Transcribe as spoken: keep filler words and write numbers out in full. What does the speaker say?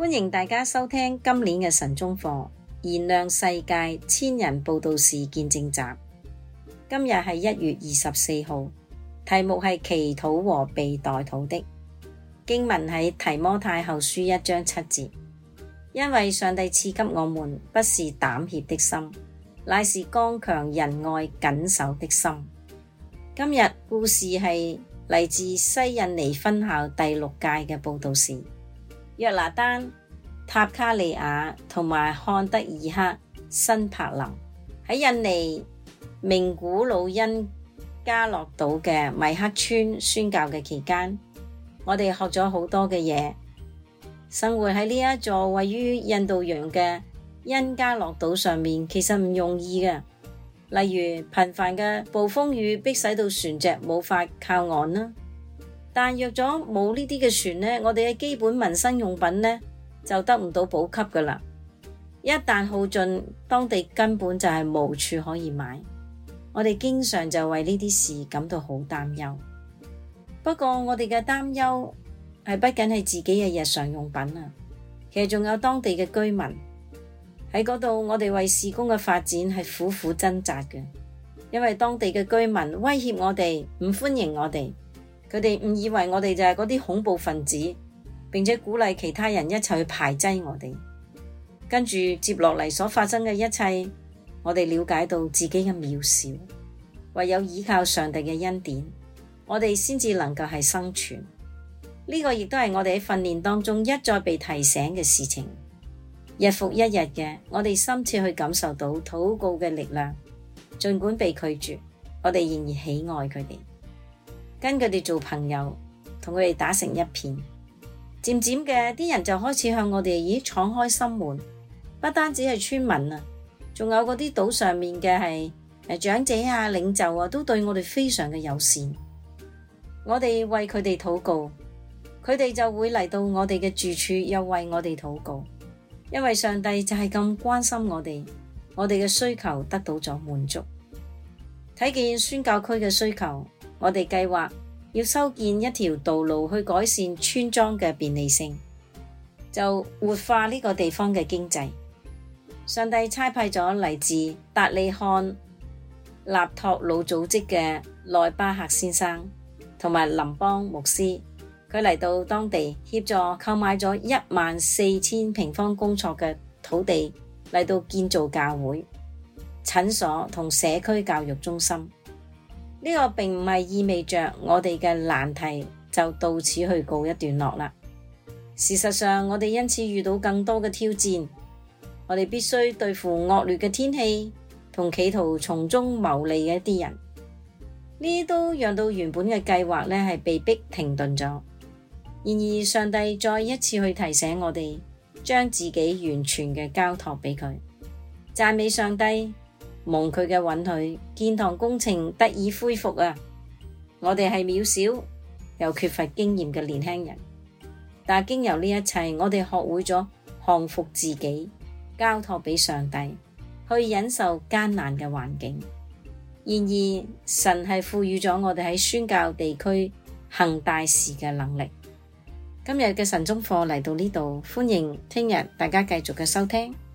歡迎大家收聽今年嘅晨鐘課，燃亮世界千人佈道士見證集。今日係一月二十四號，題目係祈禱和被代禱的。經文喺提摩太後書一章七節，因為上帝賜給我們不是膽怯的心，乃是剛強仁愛謹守的心。今日故事係嚟自西印尼分校第六屆嘅佈道士約拿丹、塔卡利亞同埋漢德爾克辛柏林喺印尼名古魯因加洛島嘅米克村宣教嘅期間，我哋學咗好多嘅嘢。生活喺呢一座位於印度洋嘅因加洛島上面，其實唔容易嘅。例如頻繁嘅暴風雨逼使到船隻冇法靠岸啦。但若咗冇呢啲嘅船呢，我哋嘅基本民生用品呢就得唔到補給噶啦。一旦耗盡，當地根本就係無處可以買。我哋經常就為呢啲事感到好擔憂。不過我哋嘅擔憂係不僅係自己嘅日常用品啊，其實仲有當地嘅居民喺嗰度。我哋為事工嘅發展係苦苦掙扎嘅，因為當地嘅居民威脅我哋，唔歡迎我哋。佢哋誤以為我哋就係嗰啲恐怖分子，並且鼓勵其他人一齊去排擠我哋。跟住接落嚟所發生嘅一切，我哋了解到自己嘅渺小，唯有依靠上帝嘅恩典，我哋先至能夠係生存。呢個亦都係我哋喺訓練當中一再被提醒嘅事情。日復一日嘅，我哋深切去感受到禱告嘅力量，儘管被拒絕，我哋仍然喜愛佢哋，跟佢哋做朋友，同佢哋打成一片。漸漸嘅，啲人就開始向我哋咦敞開心門，不單止係村民啊，仲有嗰啲島上面嘅係誒長者啊、領袖啊，都對我哋非常嘅友善。我哋為佢哋禱告，佢哋就會嚟到我哋嘅住處，又為我哋禱告。因為上帝就係咁關心我哋，我哋嘅需求得到咗滿足。睇見宣教區嘅需求，我哋計劃要修建一條道路去改善村莊嘅便利性，就活化呢個地方嘅經濟。上帝差派咗嚟自達利漢納托魯組織嘅內巴克先生同埋林邦牧師，佢嚟到當地協助購買咗一萬四千平方公尺嘅土地嚟到建造教會、診所同社區教育中心。呢個並唔係意味着我哋嘅難題就到此去告一段落啦。事實上，我哋因此遇到更多嘅挑戰。我哋必須對付惡劣嘅天氣同企圖從中牟利嘅一啲人，呢都讓到原本嘅計劃呢係被迫停頓咗。然而，上帝再一次去提醒我哋，將自己完全嘅交託俾佢。讚美上帝，蒙佢嘅允許，建堂工程得以恢復啊！我哋係渺小又缺乏經驗嘅年輕人，但經由呢一切，我哋學會咗降服自己，交託俾上帝，去忍受艱難嘅環境。然而，神係賦予咗我哋喺宣教地區行大事嘅能力。今日嘅晨鐘課嚟到呢度，歡迎聽日大家繼續嘅收聽。